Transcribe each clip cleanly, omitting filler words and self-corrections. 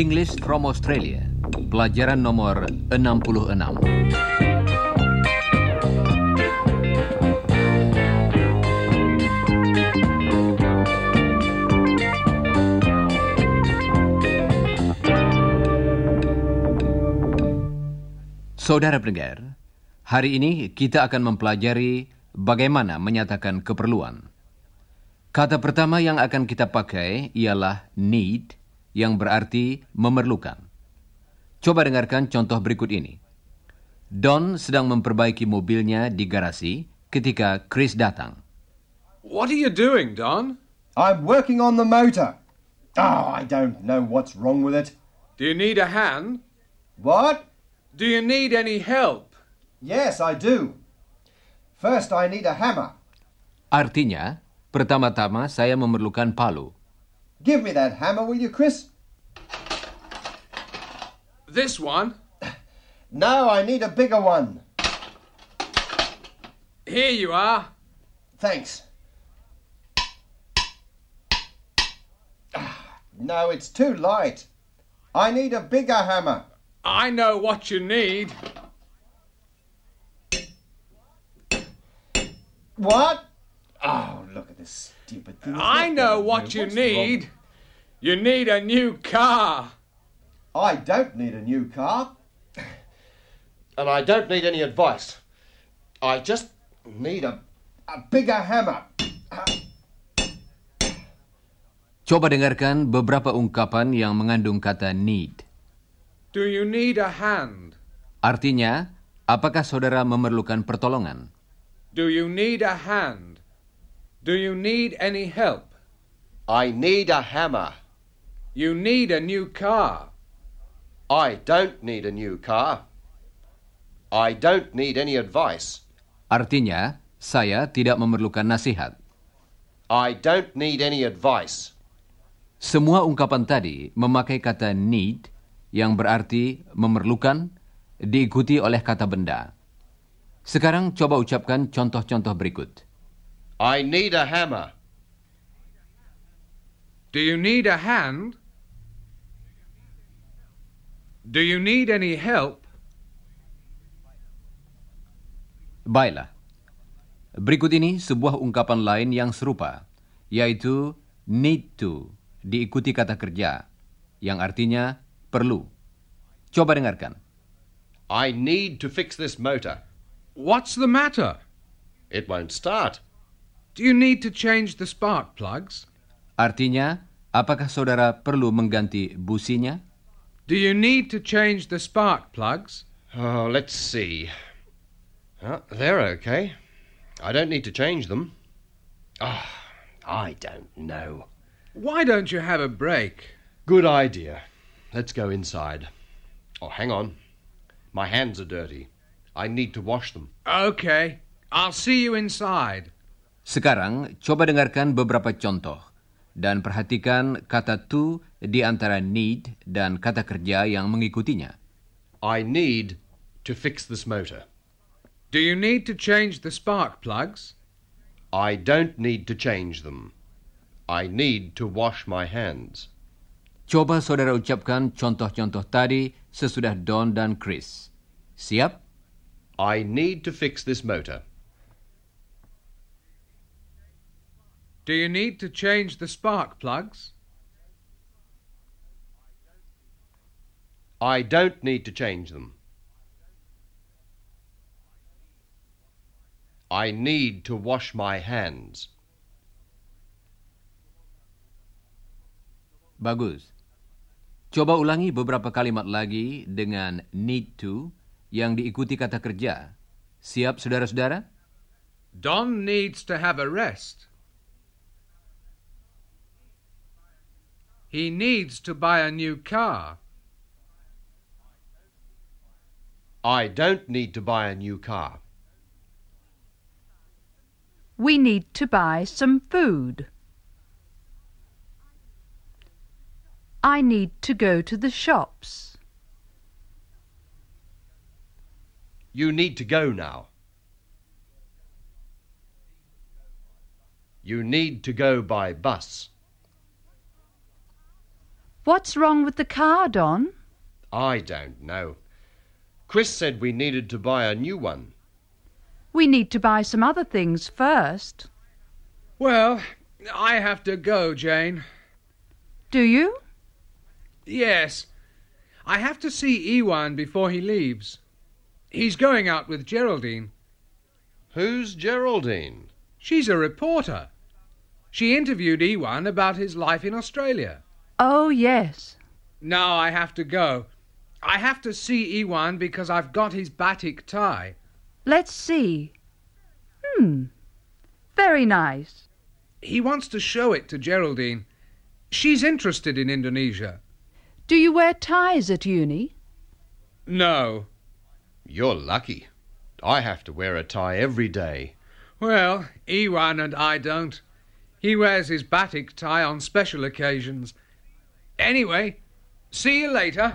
English from Australia, pelajaran nomor 66. Saudara pendengar, hari ini kita akan mempelajari bagaimana menyatakan keperluan. Kata pertama yang akan kita pakai ialah need, yang berarti memerlukan. Coba dengarkan contoh berikut ini. Don sedang memperbaiki mobilnya di garasi ketika Chris datang. What are you doing, Don? I'm working on the motor. Oh, I don't know what's wrong with it. Do you need a hand? What? Do you need any help? Yes, I do. First, I need a hammer. Artinya, pertama-tama saya memerlukan palu. Give me that hammer, will you, Chris? This one? No, I need a bigger one. Here you are. Thanks. No, it's too light. I need a bigger hammer. I know what you need. What? Oh, look at this stupid thing. I know what you need. You need a new car. I don't need a new car. And I don't need any advice. I just need a bigger hammer. Coba dengarkan beberapa ungkapan yang mengandung kata need. Do you need a hand? Artinya, apakah saudara memerlukan pertolongan? Do you need a hand? Do you need any help? I need a hammer. You need a new car. I don't need a new car. I don't need any advice. Artinya, saya tidak memerlukan nasihat. I don't need any advice. Semua ungkapan tadi memakai kata need yang berarti memerlukan diikuti oleh kata benda. Sekarang coba ucapkan contoh-contoh berikut. I need a hammer. Do you need a hand? Do you need any help? Baiklah. Berikut ini sebuah ungkapan lain yang serupa, yaitu need to diikuti kata kerja, yang artinya perlu. Coba dengarkan. I need to fix this motor. What's the matter? It won't start. Do you need to change the spark plugs? Artinya, apakah saudara perlu mengganti businya? Do you need to change the spark plugs? Oh, let's see. Oh, they're okay. I don't need to change them. Oh, I don't know. Why don't you have a break? Good idea. Let's go inside. Oh, hang on. My hands are dirty. I need to wash them. Okay, I'll see you inside. Sekarang, coba dengarkan beberapa contoh dan perhatikan kata to di antara need dan kata kerja yang mengikutinya. I need to fix this motor. Do you need to change the spark plugs? I don't need to change them. I need to wash my hands. Coba saudara ucapkan contoh-contoh tadi sesudah Don dan Chris. Siap? I need to fix this motor. Do you need to change the spark plugs? I don't need to change them. I need to wash my hands. Bagus. Coba ulangi beberapa kalimat lagi dengan need to yang diikuti kata kerja. Siap, saudara-saudara? Don needs to have a rest. He needs to buy a new car. I don't need to buy a new car. We need to buy some food. I need to go to the shops. You need to go now. You need to go by bus. What's wrong with the car, Don? I don't know. Chris said we needed to buy a new one. We need to buy some other things first. Well, I have to go, Jane. Do you? Yes. I have to see Ewan before he leaves. He's going out with Geraldine. Who's Geraldine? She's a reporter. She interviewed Ewan about his life in Australia. Oh, yes. Now I have to go. I have to see Ewan because I've got his batik tie. Let's see. Very nice. He wants to show it to Geraldine. She's interested in Indonesia. Do you wear ties at uni? No. You're lucky. I have to wear a tie every day. Well, Ewan and I don't. He wears his batik tie on special occasions. Anyway, see you later.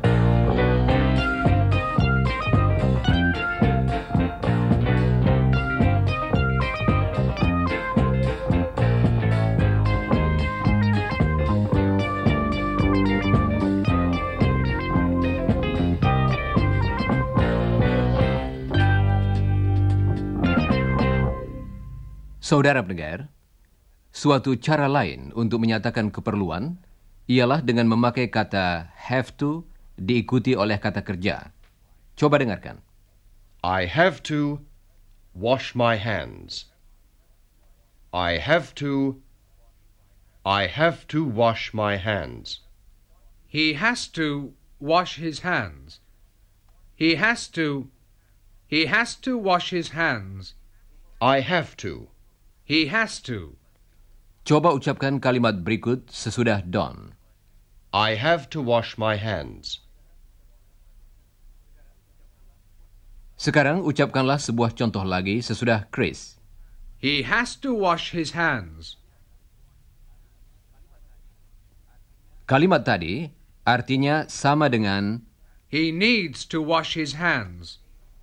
Saudara pendengar, suatu cara lain untuk menyatakan keperluan ialah dengan memakai kata have to diikuti oleh kata kerja. Coba dengarkan. I have to wash my hands. I have to wash my hands. He has to wash his hands. He has to wash his hands. I have to. He has to. Coba ucapkan kalimat berikut sesudah Don. I have to wash my hands. Sekarang ucapkanlah sebuah contoh lagi sesudah Chris. He has to wash his hands. Kalimat tadi artinya sama dengan He needs to wash his hands.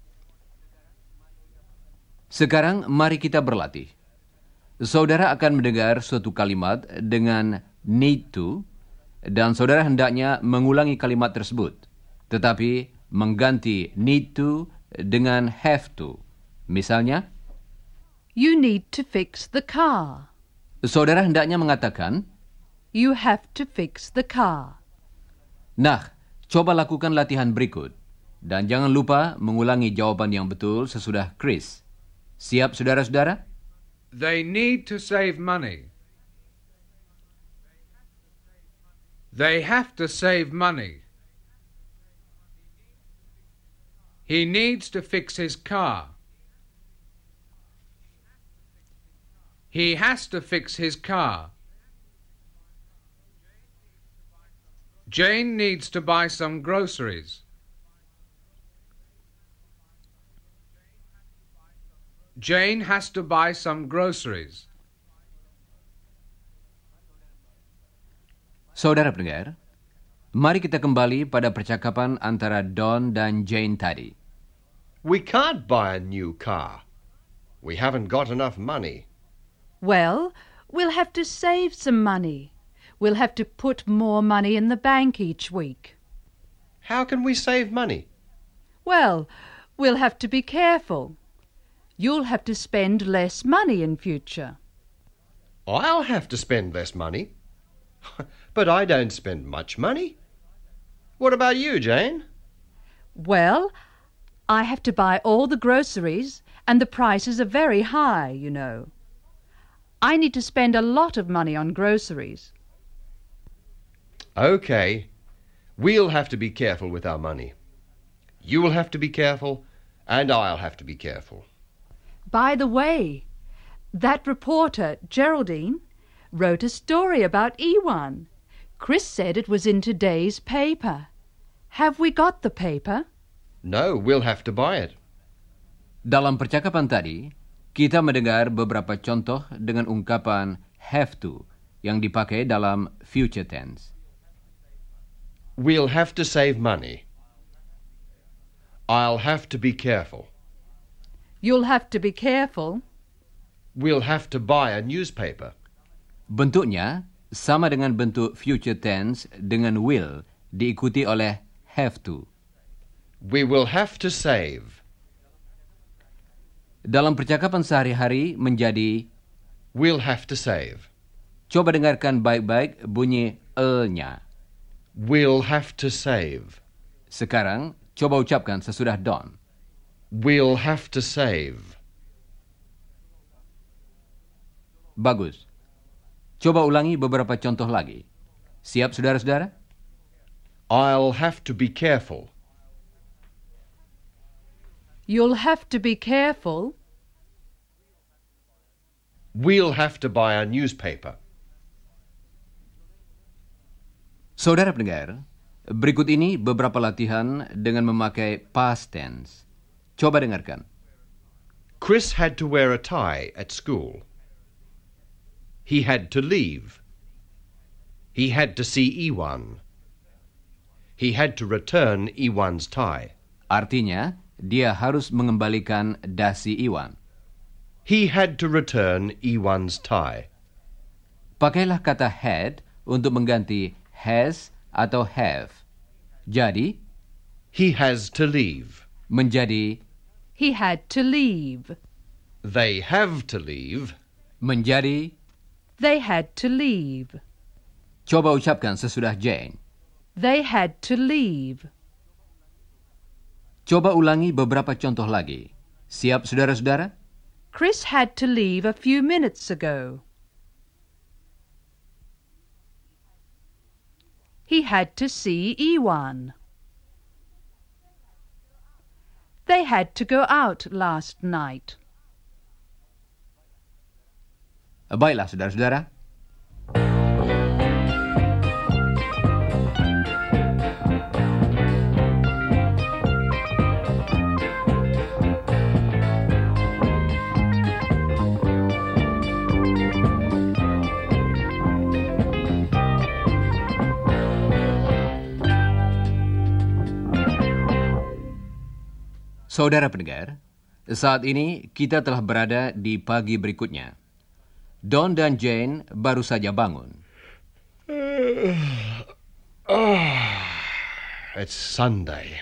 sekarang mari kita berlatih. Saudara akan mendengar suatu kalimat dengan need to, dan saudara hendaknya mengulangi kalimat tersebut, tetapi mengganti need to dengan have to. Misalnya, You need to fix the car. saudara hendaknya mengatakan, You have to fix the car. nah, coba lakukan latihan berikut. Dan jangan lupa mengulangi jawaban yang betul sesudah Chris. Siap, saudara-saudara? They need to save money. They have to save money. He needs to fix his car. He has to fix his car. Jane needs to buy some groceries. Jane has to buy some groceries. Saudara pendengar, mari kita kembali pada percakapan antara Don dan Jane tadi. We can't buy a new car. We haven't got enough money. Well, we'll have to save some money. We'll have to put more money in the bank each week. How can we save money? Well, we'll have to be careful. You'll have to spend less money in future. I'll have to spend less money. But I don't spend much money. What about you, Jane? Well, I have to buy all the groceries, and the prices are very high, you know. I need to spend a lot of money on groceries. Okay. We'll have to be careful with our money. You'll have to be careful, and I'll have to be careful. By the way, that reporter, Geraldine, wrote a story about Ewan. Chris said it was in today's paper. Have we got the paper? No, we'll have to buy it. Dalam percakapan tadi, kita mendengar beberapa contoh dengan ungkapan have to yang dipakai dalam future tense. We'll have to save money. I'll have to be careful. You'll have to be careful. We'll have to buy a newspaper. Bentuknya sama dengan bentuk future tense dengan will diikuti oleh have to. We will have to save. Dalam percakapan sehari-hari menjadi We'll have to save. coba dengarkan baik-baik bunyi nya. We'll have to save. Sekarang coba ucapkan sesudah Don. We'll have to save. Bagus. Coba ulangi beberapa contoh lagi. Siap, saudara-saudara? I'll have to be careful. You'll have to be careful. We'll have to buy a newspaper. Saudara pendengar, berikut ini beberapa latihan dengan memakai past tense. Coba dengarkan. Chris had to wear a tie at school. He had to leave. He had to see Iwan. He had to return Iwan's tie. Artinya, dia harus mengembalikan dasi Iwan. He had to return Iwan's tie. Pakailah kata had untuk mengganti has atau have. Jadi, He has to leave. menjadi He had to leave. They have to leave. menjadi. They had to leave. Coba ucapkan sesudah Jane. They had to leave. Coba ulangi beberapa contoh lagi. Siap, saudara-saudara? Chris had to leave a few minutes ago. He had to see Iwan. They had to go out last night. Baiklah, saudara-saudara. Saudara pendengar, saat ini kita telah berada di pagi berikutnya. Don dan Jane baru saja bangun. It's Sunday.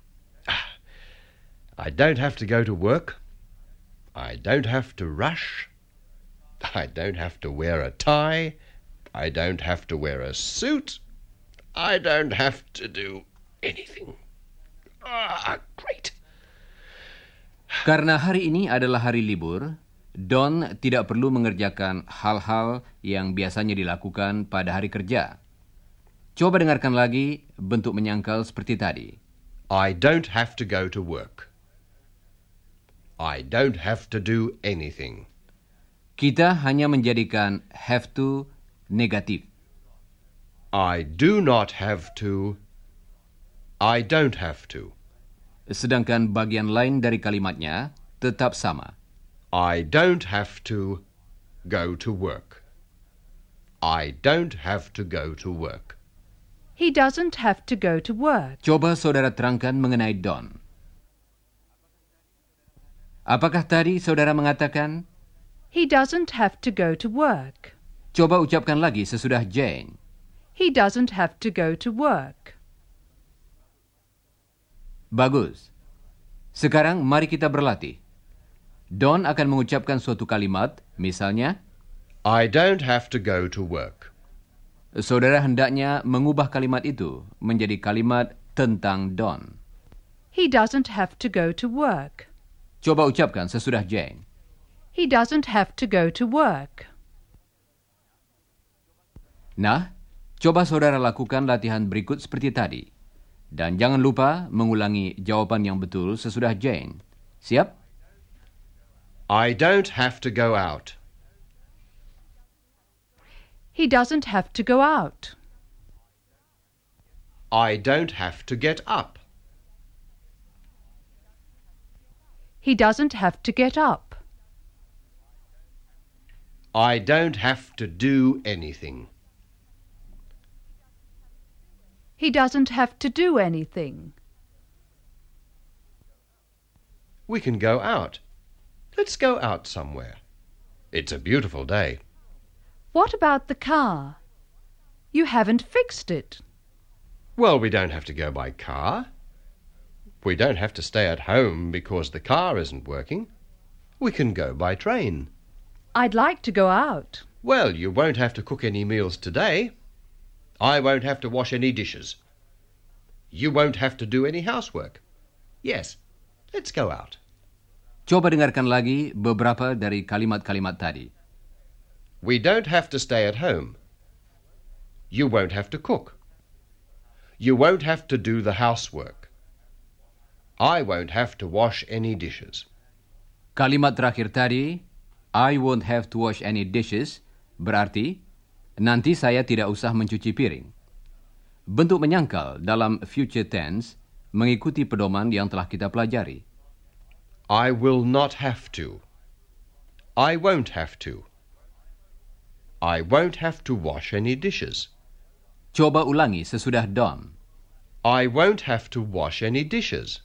I don't have to go to work. I don't have to rush. I don't have to wear a tie. I don't have to wear a suit. I don't have to do anything. Great. Karena hari ini adalah hari libur, Don tidak perlu mengerjakan hal-hal yang biasanya dilakukan pada hari kerja. Coba dengarkan lagi bentuk menyangkal seperti tadi. I don't have to go to work. I don't have to do anything. Kita hanya menjadikan have to negatif. I do not have to. I don't have to. Sedangkan bagian lain dari kalimatnya tetap sama. I don't have to go to work. I don't have to go to work. He doesn't have to go to work. Coba saudara terangkan mengenai Don. Apakah tadi saudara mengatakan? He doesn't have to go to work. Coba ucapkan lagi sesudah Jane. He doesn't have to go to work. Bagus. Sekarang mari kita berlatih. Don akan mengucapkan suatu kalimat, misalnya, I don't have to go to work. saudara hendaknya mengubah kalimat itu menjadi kalimat tentang Don. He doesn't have to go to work. Coba ucapkan sesudah Jane. He doesn't have to go to work. Nah, coba saudara lakukan latihan berikut seperti tadi. Dan jangan lupa mengulangi jawaban yang betul sesudah Jane. Siap? I don't have to go out. He doesn't have to go out. I don't have to get up. He doesn't have to get up. I don't have to do anything. He doesn't have to do anything. We can go out. Let's go out somewhere. It's a beautiful day. What about the car? You haven't fixed it. Well, we don't have to go by car. We don't have to stay at home because the car isn't working. We can go by train. I'd like to go out. Well, you won't have to cook any meals today. I won't have to wash any dishes. You won't have to do any housework. Yes, let's go out. Coba dengarkan lagi beberapa dari kalimat-kalimat tadi. We don't have to stay at home. You won't have to cook. You won't have to do the housework. I won't have to wash any dishes. Kalimat terakhir tadi, I won't have to wash any dishes, berarti nanti saya tidak usah mencuci piring. Bentuk menyangkal dalam future tense mengikuti pedoman yang telah kita pelajari. I will not have to. I won't have to. I won't have to wash any dishes. Coba ulangi sesudah done. I won't have to wash any dishes.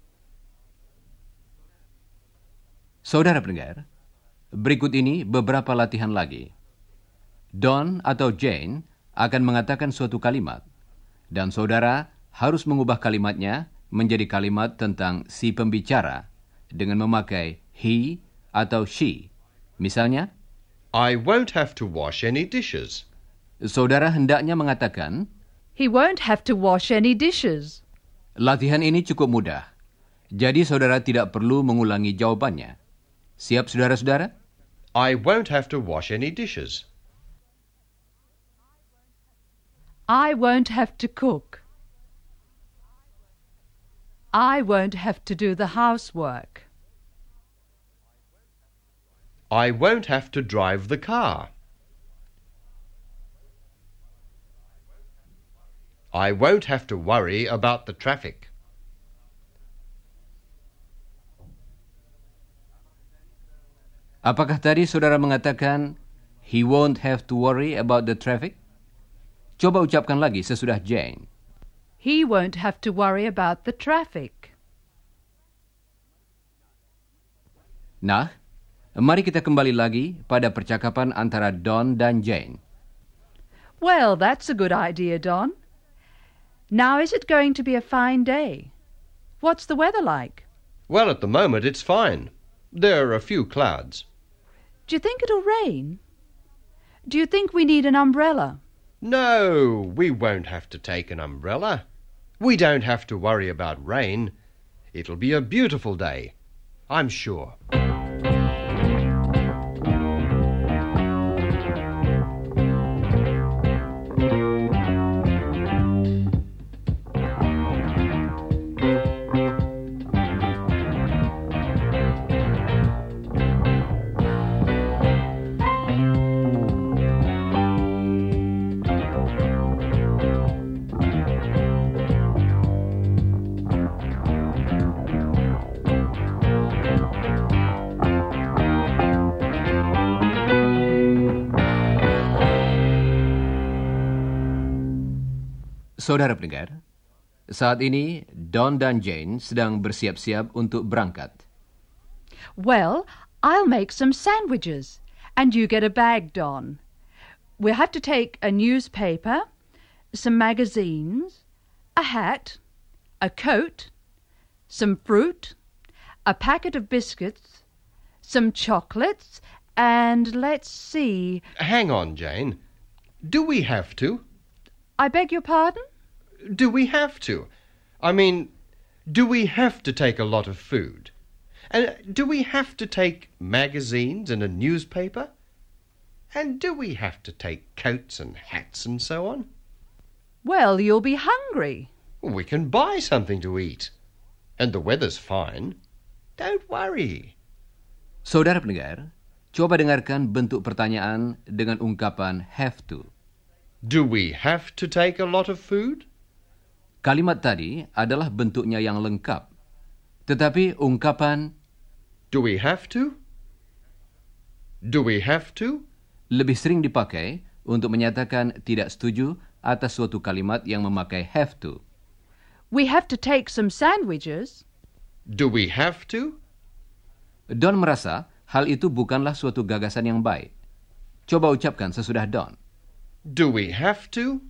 Saudara pendengar, berikut ini beberapa latihan lagi. Don atau Jane akan mengatakan suatu kalimat, dan saudara harus mengubah kalimatnya menjadi kalimat tentang si pembicara dengan memakai he atau she. Misalnya, I won't have to wash any dishes. saudara hendaknya mengatakan, He won't have to wash any dishes. latihan ini cukup mudah, jadi saudara tidak perlu mengulangi jawabannya. Siap, saudara-saudara? I won't have to wash any dishes. I won't have to cook. I won't have to do the housework. I won't have to drive the car. I won't have to worry about the traffic. Apakah tadi saudara mengatakan, he won't have to worry about the traffic? Coba ucapkan lagi sesudah Jane. He won't have to worry about the traffic. Nah, mari kita kembali lagi pada percakapan antara Don dan Jane. Well, that's a good idea, Don. Now, is it going to be a fine day? What's the weather like? Well, at the moment it's fine. There are a few clouds. Do you think it'll rain? Do you think we need an umbrella? No, we won't have to take an umbrella. We don't have to worry about rain. It'll be a beautiful day, I'm sure. Saudara pendengar, saat ini Don dan Jane sedang bersiap-siap untuk berangkat. Well, I'll make some sandwiches, and you get a bag, Don. We'll have to take a newspaper, some magazines, a hat, a coat, some fruit, a packet of biscuits, some chocolates, and let's see... Hang on, Jane. Do we have to? I beg your pardon? Do we have to? I mean, do we have to take a lot of food? And do we have to take magazines and a newspaper? And do we have to take coats and hats and so on? Well, you'll be hungry. We can buy something to eat. And the weather's fine. Don't worry. Saudara pendengar, coba dengarkan bentuk pertanyaan dengan ungkapan have to. Do we have to take a lot of food? Kalimat tadi adalah bentuknya yang lengkap. Tetapi ungkapan Do we have to? Do we have to? lebih sering dipakai untuk menyatakan tidak setuju atas suatu kalimat yang memakai have to. We have to take some sandwiches. Do we have to? Don merasa hal itu bukanlah suatu gagasan yang baik. Coba ucapkan sesudah Don. Do we have to?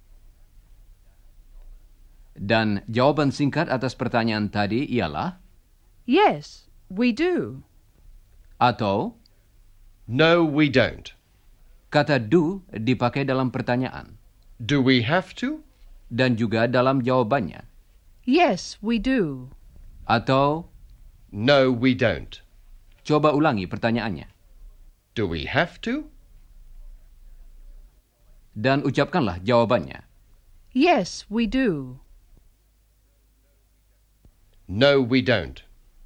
Dan jawaban singkat atas pertanyaan tadi ialah Yes, we do. atau No, we don't. kata do dipakai dalam pertanyaan Do we have to? dan juga dalam jawabannya. Yes, we do. Atau No, we don't. coba ulangi pertanyaannya. Do we have to? Dan ucapkanlah jawabannya. Yes, we do. No, we don't.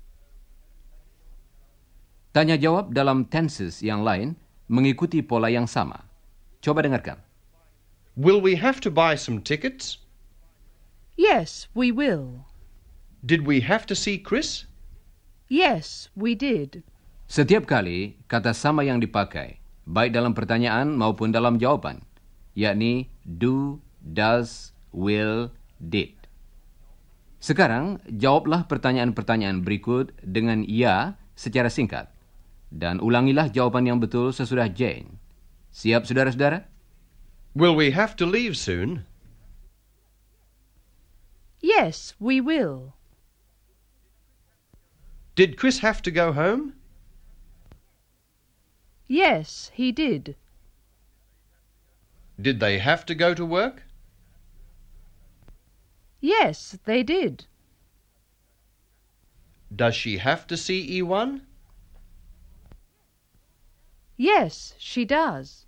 Tanya jawab dalam tenses yang lain mengikuti pola yang sama. Coba dengarkan. Will we have to buy some tickets? Yes, we will. Did we have to see Chris? Yes, we did. Setiap kali kata sama yang dipakai, baik dalam pertanyaan maupun dalam jawaban, yakni do, does, will, did. Sekarang, jawablah pertanyaan-pertanyaan berikut dengan ya secara singkat. Dan ulangilah jawaban yang betul sesudah Jane. Siap, saudara-saudara? Will we have to leave soon? Yes, we will. Did Chris have to go home? Yes, he did. Did they have to go to work? Yes, they did. Does she have to see Ewan? Yes, she does.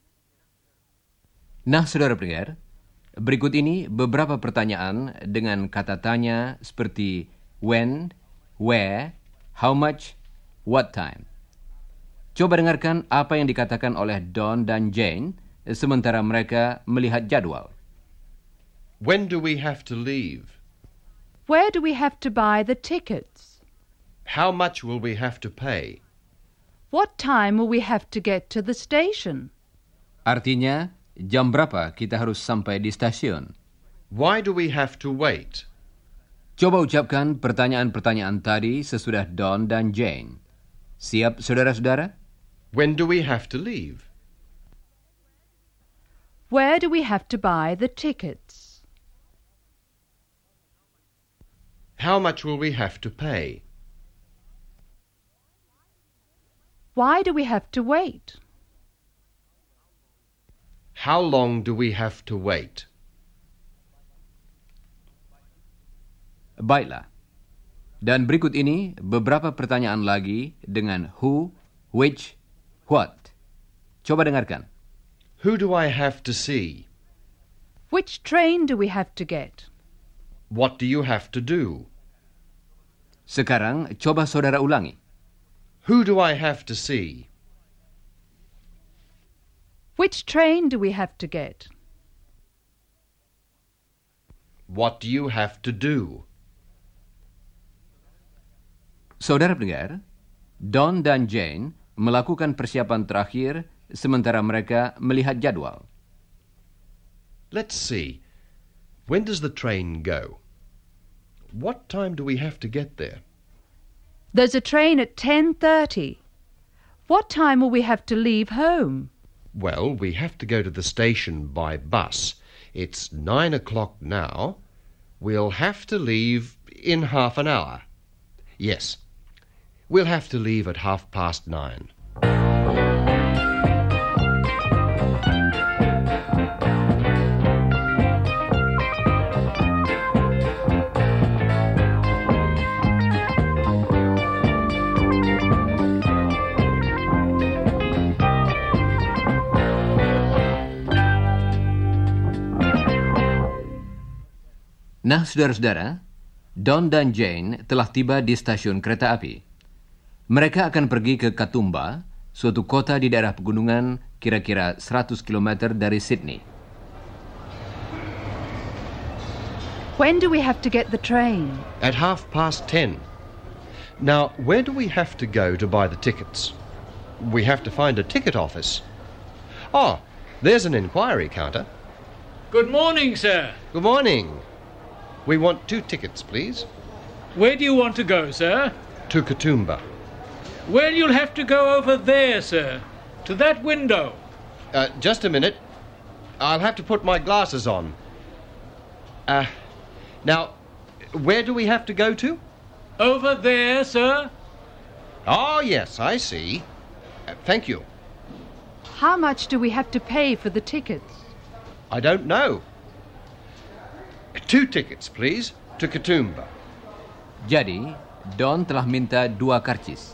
Nah, saudara pendengar, berikut ini beberapa pertanyaan dengan kata tanya seperti when, where, how much, what time. Coba dengarkan apa yang dikatakan oleh Don dan Jane sementara mereka melihat jadwal. When do we have to leave? Where do we have to buy the tickets? How much will we have to pay? What time will we have to get to the station? Artinya, jam berapa kita harus sampai di stasiun? Why do we have to wait? Coba ucapkan pertanyaan-pertanyaan tadi sesudah Don dan Jane. Siap, saudara-saudara? When do we have to leave? Where do we have to buy the tickets? How much will we have to pay? Why do we have to wait? How long do we have to wait? Baiklah. Dan berikut ini beberapa pertanyaan lagi dengan who, which, what. Coba dengarkan. Who do I have to see? Which train do we have to get? What do you have to do? Sekarang coba saudara ulangi. Who do I have to see? Which train do we have to get? What do you have to do? Saudara pendengar, Don dan Jane melakukan persiapan terakhir sementara mereka melihat jadwal. Let's see. When does the train go? What time do we have to get there? There's a train at 10:30. What time will we have to leave home? Well, we have to go to the station by bus. It's 9 o'clock now. We'll have to leave in half an hour. Yes, we'll have to leave at 9:30. Nah, saudara-saudara, Don dan Jane telah tiba di stasiun kereta api. Mereka akan pergi ke Katoomba, suatu kota di daerah pegunungan kira-kira 100 km dari Sydney. When do we have to get the train? At 10:30. Now, where do we have to go to buy the tickets? We have to find a ticket office. Oh, there's an inquiry counter. Good morning, sir. Good morning. We want 2 tickets, please. Where do you want to go, sir? To Katoomba. Well, you'll have to go over there, sir. To that window. Just a minute. I'll have to put my glasses on. Now, where do we have to go to? Over there, sir. Oh, yes, I see. Thank you. How much do we have to pay for the tickets? I don't know. 2 tickets, please, to Katoomba. Jadi, Don telah minta 2 karcis.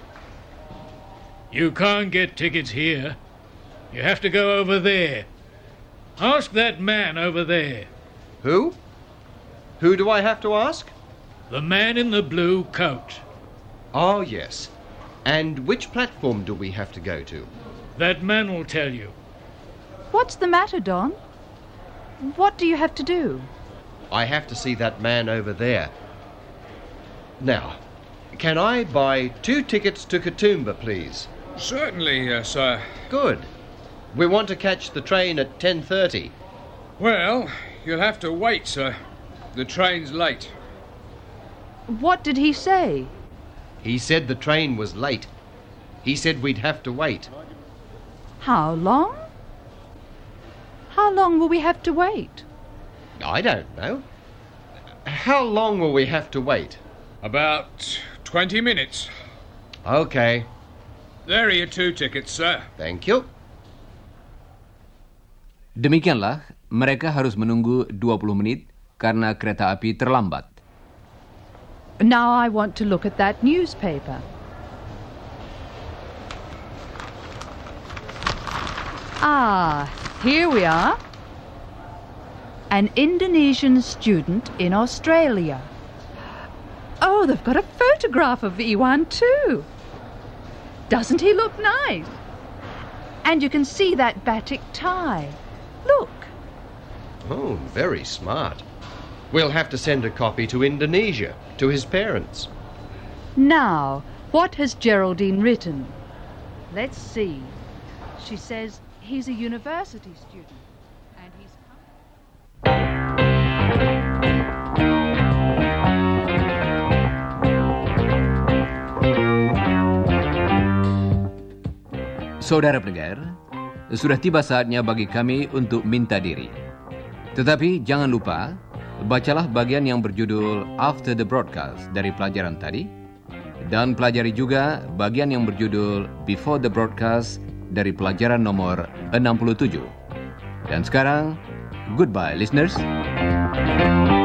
You can't get tickets here. You have to go over there. Ask that man over there. Who? Who do I have to ask? The man in the blue coat. Oh, yes. And which platform do we have to go to? That man will tell you. What's the matter, Don? What do you have to do? I have to see that man over there. Now, can I buy 2 tickets to Katoomba, please? Certainly, sir. Good. We want to catch the train at 10:30. Well, you'll have to wait, sir. The train's late. What did he say? He said the train was late. He said we'd have to wait. How long? How long will we have to wait? I don't know. How long will we have to wait? About 20 minutes. Okay, There are your 2 tickets, sir. thank you. Demikianlah, mereka harus menunggu 20 menit karena kereta api terlambat. Now I want to look at that newspaper. Ah, here we are. An Indonesian student in Australia. Oh, they've got a photograph of Iwan too. Doesn't he look nice? And you can see that batik tie. Look. Oh, very smart. We'll have to send a copy to Indonesia, to his parents. Now, what has Geraldine written? Let's see. She says he's a university student and he's come. Saudara pendengar, sudah tiba saatnya bagi kami untuk minta diri. Tetapi jangan lupa, bacalah bagian yang berjudul After the Broadcast dari pelajaran tadi, dan pelajari juga bagian yang berjudul Before the Broadcast dari pelajaran nomor 67. Dan sekarang, goodbye listeners.